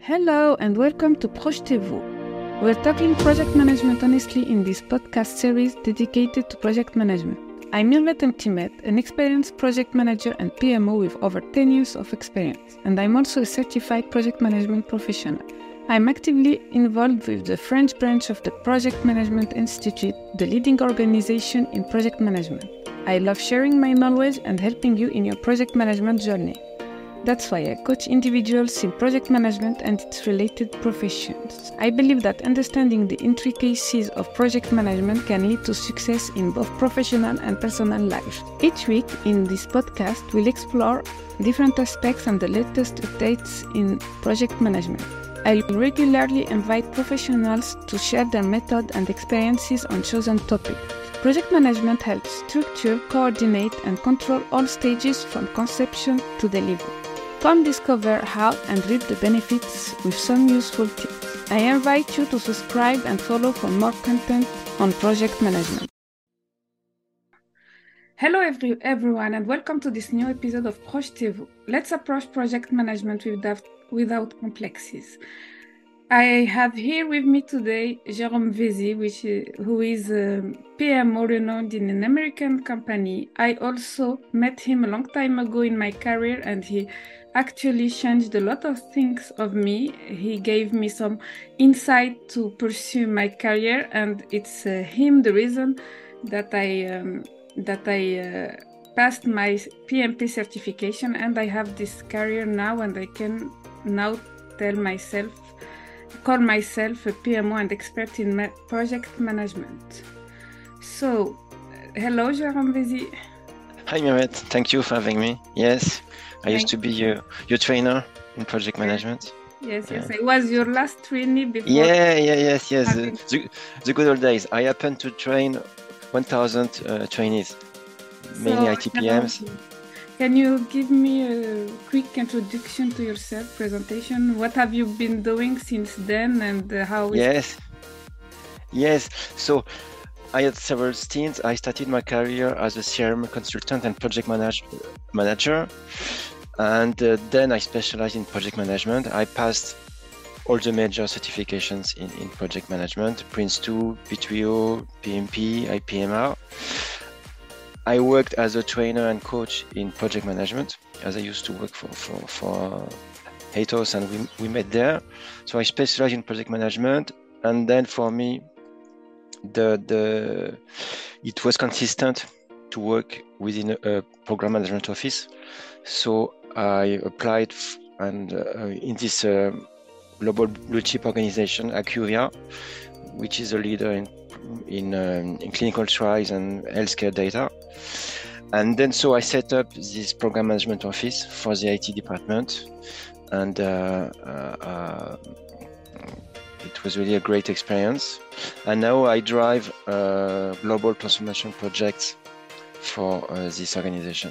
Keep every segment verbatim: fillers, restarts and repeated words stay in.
Hello and welcome to Projetez-vous. We're talking project management honestly in this podcast series dedicated to project management. I'm Mirvet Mtimet, an experienced project manager and P M O with over ten years of experience, and I'm also a certified project management professional. I'm actively involved with the French branch of the Project Management Institute, the leading organization in project management. I love sharing my knowledge and helping you in your project management journey. That's why I coach individuals in project management and its related professions. I believe that understanding the intricacies of project management can lead to success in both professional and personal life. Each week in this podcast, we'll explore different aspects and the latest updates in project management. I regularly invite professionals to share their method and experiences on chosen topics. Project management helps structure, coordinate, and control all stages from conception to delivery. Come discover how and reap the benefits with some useful tips. I invite you to subscribe and follow for more content on project management. Hello every, everyone and welcome to this new episode of Projetez-vous. Let's approach project management without, without complexes. I have here with me today Jérôme Vézy, which is, who is a P M O renowned in an American company. I also met him a long time ago in my career and he actually changed a lot of things of me. He gave me some insight to pursue my career, and it's uh, him the reason that I um, that I uh, passed my P M P certification, and I have this career now, and I can now tell myself, call myself a P M O and expert in ma- project management. So, hello, Jérôme Vézy. Hi, Mirvet. Thank you for having me. Yes. I used to be your, your trainer in project management. Yes, yes. Yeah. I was your last trainee before. Yeah, yeah, yes, yes. The, the, the good old days. I happened to train one thousand uh, trainees, mainly so, I T P Ms. Can you give me a quick introduction to yourself, presentation? What have you been doing since then and uh, how is Yes, yes. So I had several stints. I started my career as a C R M consultant and project manage- manager. And uh, then I specialized in project management. I passed all the major certifications in, in project management, Prince two, P three O, P M P, I P M R. I worked as a trainer and coach in project management, as I used to work for, for, for Atos, and we, we met there. So I specialized in project management. And then for me, the the it was consistent to work within a, a program management office. So I applied f- and uh, in this uh, global blue chip organization, Acuvia, which is a leader in in, um, in clinical trials and healthcare data. And then so I set up this program management office for the I T department, and uh, uh, uh, it was really a great experience. And now I drive uh, global transformation projects for uh, this organization.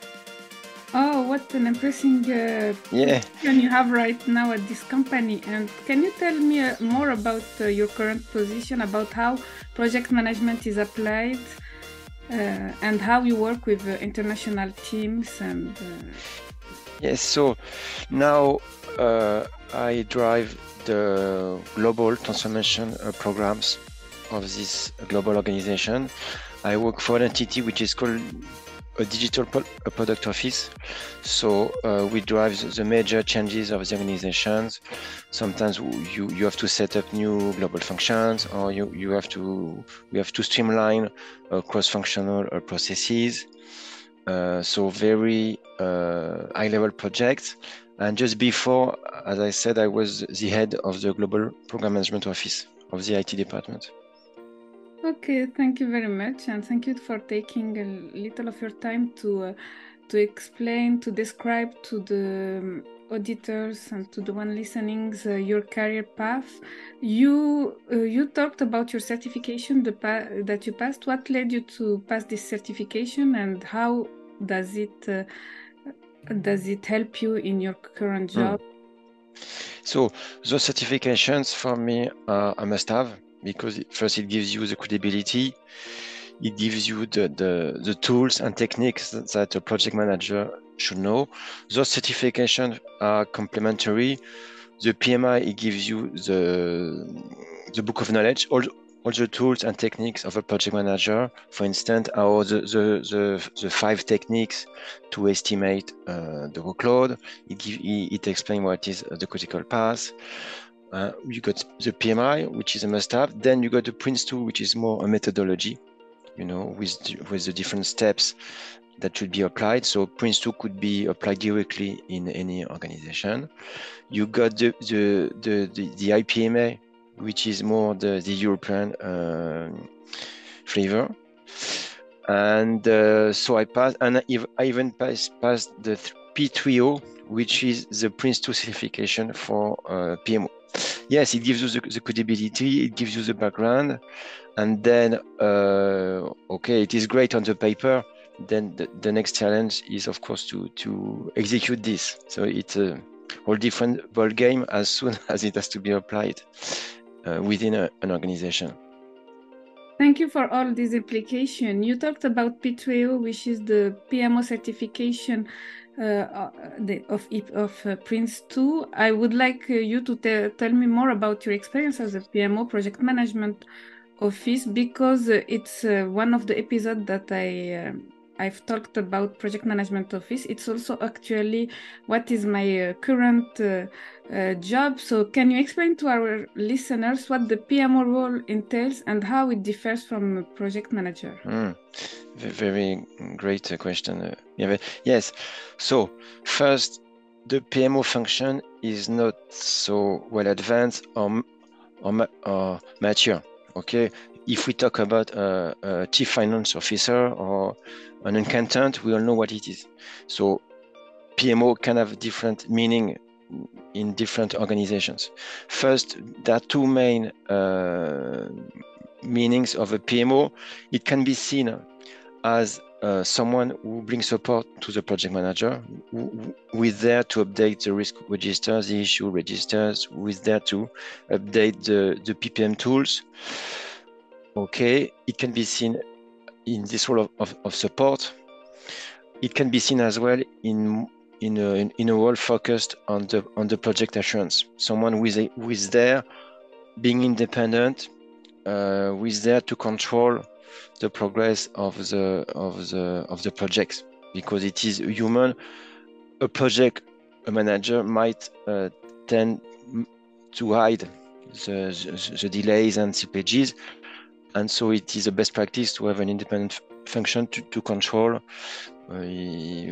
Oh, what an impressive uh, yeah. position you have right now at this company. And can you tell me uh, more about uh, your current position, about how project management is applied uh, and how you work with uh, international teams? And uh... Yes, so now uh, I drive the global transformation uh, programs of this global organization. I work for an entity which is called a digital po- a product office. So uh, we drive the major changes of the organizations. Sometimes you, you have to set up new global functions, or you, you have to we have to streamline uh, cross-functional uh, processes. Uh, so very uh, high-level projects. And just before, as I said, I was the head of the global program management office of the I T department. Okay, thank you very much, and thank you for taking a little of your time to uh, to explain, to describe to the um, auditors and to the one listening uh, your career path. You uh, you talked about your certification the pa- that you passed. What led you to pass this certification, and how does it uh, does it help you in your current job? Mm. So those certifications for me are a must-have. Because first it gives you the credibility, it gives you the, the, the tools and techniques that, that a project manager should know. Those certifications are complementary. the P M I, it gives you the, the book of knowledge, all, all the tools and techniques of a project manager. For instance, how the, the, the, the five techniques to estimate uh, the workload. It, give, it explains what is the critical path. Uh, you got the P M I, which is a must-have. Then you got the Prince two, which is more a methodology, you know, with, with the different steps that should be applied. So Prince two could be applied directly in any organization. You got the, the, the, the, the I P M A, which is more the, the European uh, flavor. And uh, so I passed, and I even passed, passed the P three O, which is the Prince two certification for uh, P M O. Yes, it gives you the, the credibility, it gives you the background, and then, uh, okay, it is great on the paper. Then the, the next challenge is, of course, to, to execute this. So it's a whole different ball game as soon as it has to be applied uh, within a, an organization. Thank you for all this implication. You talked about P three O, which is the P M O certification uh, the, of, of uh, Prince two. I would like uh, you to te tell me more about your experience as a P M O project management office, because uh, it's uh, one of the episodes that I uh, I've talked about project management office. It's also actually what is my uh, current uh, uh, job. So can you explain to our listeners what the P M O role entails and how it differs from a project manager? Mm, very great question. Uh, yeah, yes. So first, the P M O function is not so well advanced or, or, or mature. Okay. If we talk about a, a chief finance officer or an accountant, we all know what it is. So P M O can have different meaning in different organizations. First, there are two main uh, meanings of a P M O. It can be seen as uh, someone who brings support to the project manager, who, who is there to update the risk registers, the issue registers, who is there to update the, the P P M tools. Okay, it can be seen in this role of, of, of support. It can be seen as well in in a, in, in a role focused on the on the project assurance. Someone who is, a, who is there, being independent, uh, who is there to control the progress of the of the of the projects, because it is human. A project a manager might uh, tend to hide the, the, the delays and slippages. And so it is a best practice to have an independent function to, to control uh, the,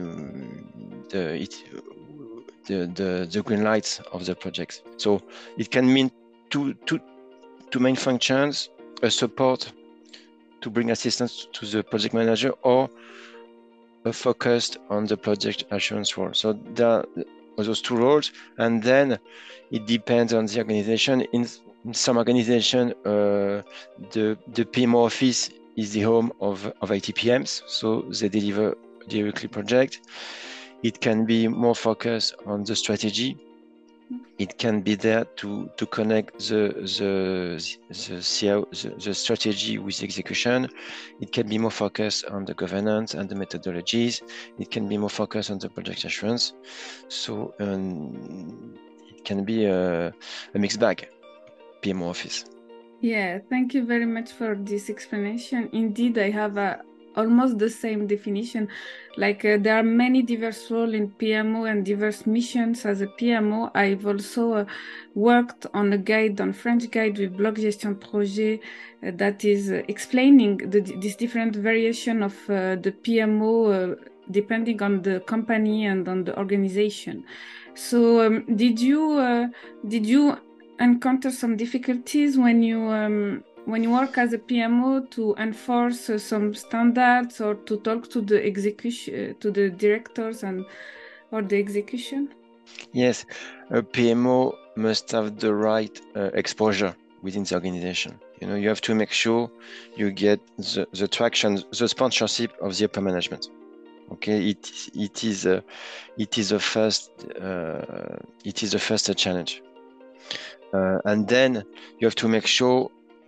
it, the, the, the green lights of the projects. So it can mean two, two, two main functions: a support to bring assistance to the project manager, or a focus on the project assurance role. So there are those two roles, and then it depends on the organization. In In some organization, uh, the, the P M O office is the home of, of I T P Ms, so they deliver directly project. It can be more focused on the strategy. It can be there to, to connect the, the, the, C I O, the, the strategy with the execution. It can be more focused on the governance and the methodologies. It can be more focused on the project assurance. So um, it can be a, a mixed bag. P M O office. Yeah, thank you very much for this explanation. Indeed, I have a, almost the same definition. Like uh, there are many diverse roles in P M O and diverse missions as a P M O. I've also uh, worked on a guide, on French guide with Bloc Gestion Projet uh, that is uh, explaining the, this different variation of uh, the P M O uh, depending on the company and on the organization. So um, did you uh, did you encounter some difficulties when you um, when you work as a P M O to enforce uh, some standards, or to talk to the execution uh, to the directors and or the execution? Yes, a P M O must have the right uh, exposure within the organization. You know, you have to make sure you get the, the traction, the sponsorship of the upper management. Okay, it it is a it is a first uh, it is the first challenge. Uh, and then you have to make sure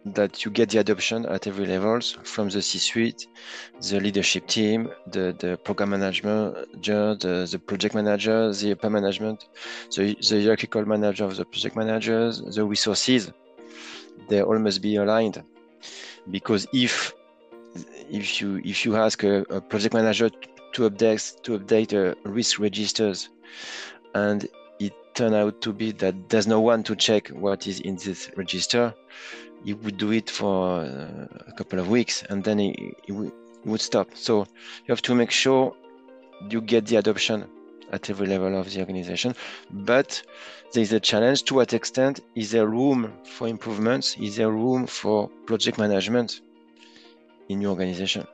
that you get the adoption at every levels, from the C-suite, the leadership team, the, the program manager, the, the project manager, the upper management, the, the hierarchical manager of the project managers, the resources, they all must be aligned. Because if if you if you ask a, a project manager to update to update uh, risk registers, and it turned out to be that there's no one to check what is in this register, he would do it for uh, a couple of weeks, and then he, he, would, he would stop. So you have to make sure you get the adoption at every level of the organization. But there is a challenge. To what extent is there room for improvements? Is there room for project management in your organization?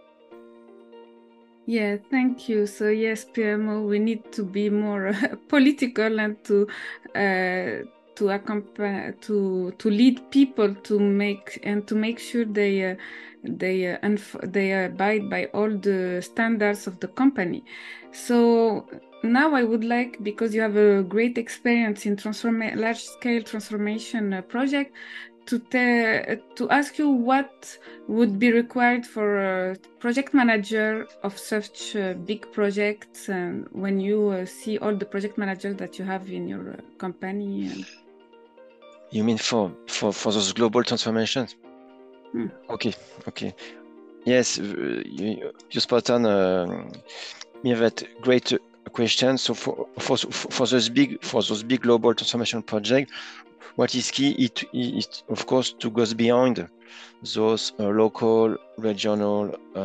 Yeah, thank you. So yes, P M O, we need to be more uh, political and to uh, to accompany, to to lead people to make and to make sure they uh, they uh, unf- they abide by all the standards of the company. So now I would like, because you have a great experience in transform- large scale transformation uh, project, to te- to ask you what would be required for a project manager of such uh, big projects, and when you uh, see all the project managers that you have in your uh, company. And... You mean for for for those global transformations? Hmm. Okay, okay. Yes, uh, you, you spot on. Uh, yeah, that great question. So for for for those big for those big global transformation projects, what is key it is, of course, to go beyond those uh, local, regional uh,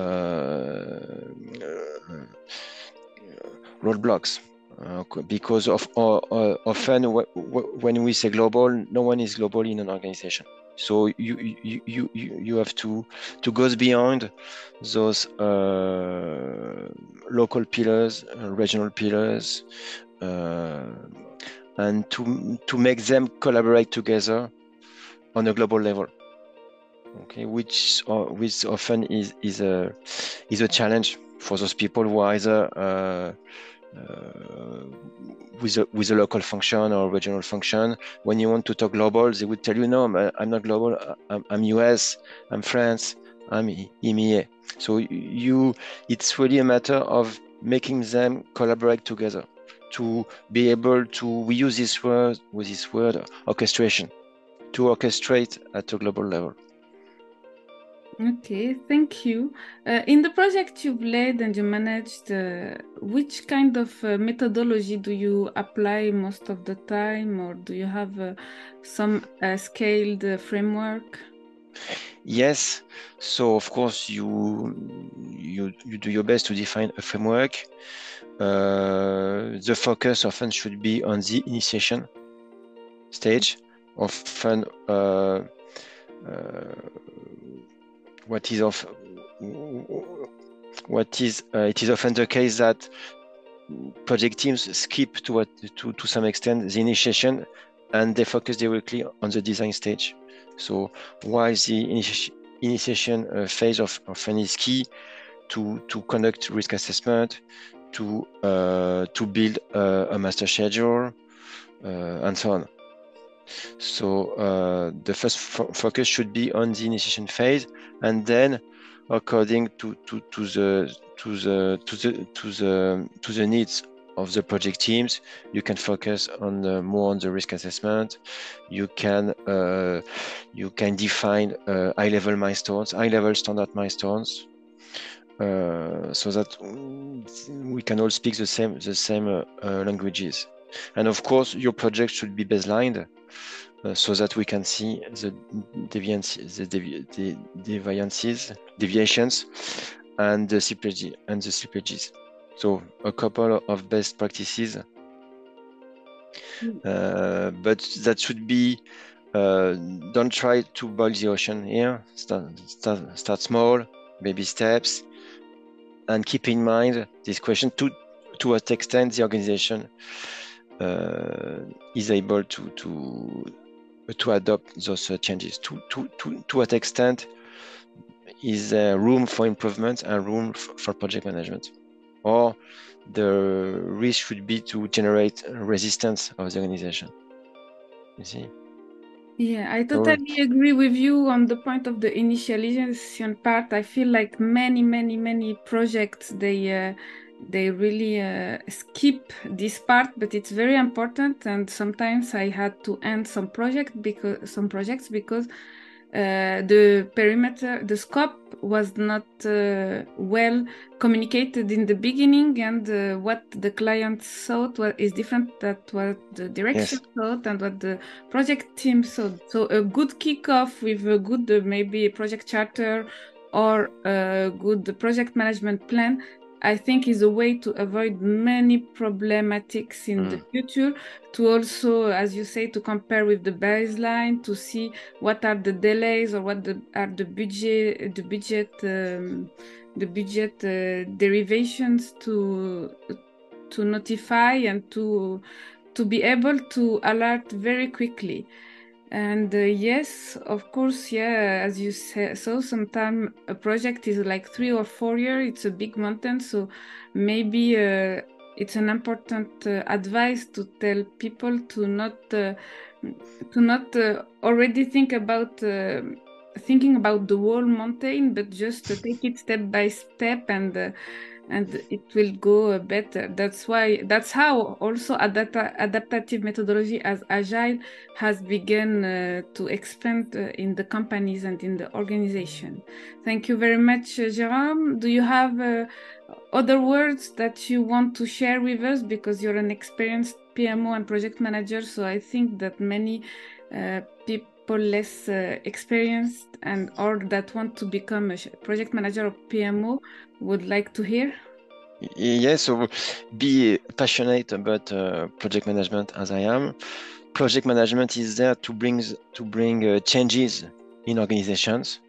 uh, roadblocks. Uh, because of uh, uh, often w- w- when we say global, no one is global in an organization. So you you you you, you have to to go beyond those uh, local pillars, uh, regional pillars, uh, and to to make them collaborate together on a global level. Okay, which uh, which often is is a is a challenge for those people who are either uh, uh, with a with a local function or regional function. When you want to talk global, they would tell you, no, I'm not global. I'm, I'm U S. I'm France. I'm E M E A. So you, it's really a matter of making them collaborate together to be able to. We use this word with this word orchestration, to orchestrate at a global level. Okay, thank you. Uh, in the project you've led and you managed, uh, which kind of uh, methodology do you apply most of the time, or do you have uh, some uh, scaled uh, framework? Yes, so of course you you you do your best to define a framework. Uh, the focus often should be on the initiation stage. Often, uh, uh, what is of what is uh, it is often the case that project teams skip to what to to some extent the initiation, and they focus directly on the design stage. So while the initi initiation uh, phase of often is key to to conduct risk assessment, to uh, to build uh, a master schedule, uh, and so on. So uh, the first fo focus should be on the initiation phase, and then, according to, to, to the to the to the to the to the needs of the project teams, you can focus on the, more on the risk assessment. You can uh, you can define uh, high-level milestones, high-level standard milestones, uh, so that we can all speak the same the same uh, uh, languages. And of course, your project should be baselined. Uh, so that we can see the deviances, the, devi the deviances, deviations, and the slippages and the slippages. So a couple of best practices, uh, but that should be. Uh, don't try to boil the ocean here. Start, start, start small, baby steps, and keep in mind this question: to to what extent the organization uh, is able to to to adopt those uh, changes, to, to, to, to what extent is there room for improvement and room for project management, or the risk should be to generate resistance of the organization, you see? Yeah, I So, totally agree with you on the point of the initialization part. I feel like many, many, many projects they uh, they really uh, skip this part, but it's very important. And sometimes I had to end some project because some projects because uh, the perimeter, the scope was not uh, well communicated in the beginning, and uh, what the client thought was, is different than what the direction yes, thought and what the project team thought. So a good kickoff with a good uh, maybe project charter or a good project management plan, I think is a way to avoid many problematics in the mm, future. To also, as you say, to compare with the baseline, to see what are the delays or what the, are the budget, the budget, um, the budget uh, derivations to to notify and to to be able to alert very quickly. And uh, yes, of course, yeah, as you say, so sometimes a project is like three or four years, it's a big mountain. So maybe uh, it's an important uh, advice to tell people to not uh, to not uh, already think about uh, thinking about the whole mountain, but just to take it step by step, and uh, and it will go uh, better. That's why that's how also adapt- adaptive methodology as agile has begun uh, to expand uh, in the companies and in the organization. Thank you very much, uh, Jérôme. Do you have uh, other words that you want to share with us? Because you're an experienced P M O and project manager, so I think that many uh, people less uh, experienced and or that want to become a project manager or P M O would like to hear. yes. So be passionate about uh, project management as I am. Project management is there to bring to bring uh, changes in organizations,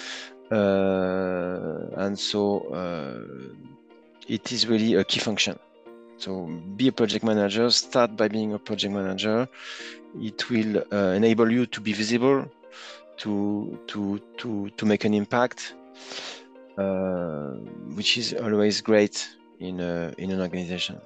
uh, and so uh, it is really a key function. So be a project manager. Start by being a project manager. It will uh, enable you to be visible, to to to to make an impact, uh, which is always great in a, in an organization.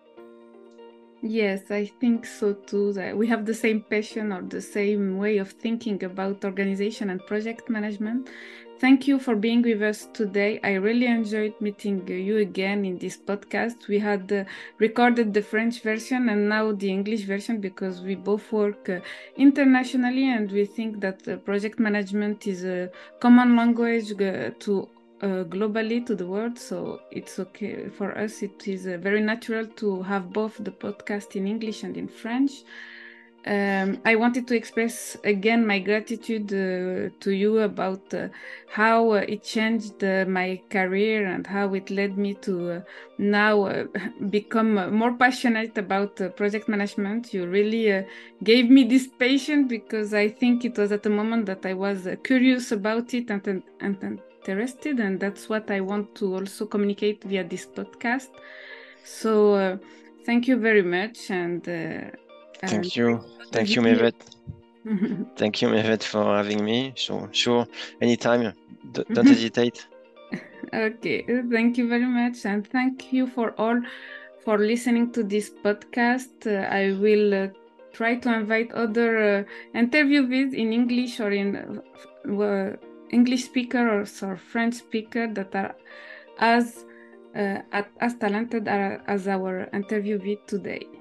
Yes, I think so too. That we have the same passion or the same way of thinking about organization and project management. Thank you for being with us today. I really enjoyed meeting you again in this podcast. We had uh, recorded the French version and now the English version because we both work uh, internationally, and we think that uh, project management is a common language uh, to uh, globally to the world. So it's okay for us. It is uh, very natural to have both the podcast in English and in French. Um, I wanted to express again my gratitude uh, to you about uh, how uh, it changed uh, my career and how it led me to uh, now uh, become uh, more passionate about uh, project management. You really uh, gave me this patience because I think it was at the moment that I was uh, curious about it and, and, and interested, and that's what I want to also communicate via this podcast. So uh, thank you very much, and uh, and Thank you, thank you, Mehvet. Thank you, Mehvet, for having me. So sure, anytime. D- don't hesitate. Okay, thank you very much, and thank you for all for listening to this podcast. Uh, I will uh, try to invite other uh, interviewees in English or in uh, English speakers or French speaker that are as uh, as talented as our interviewee today.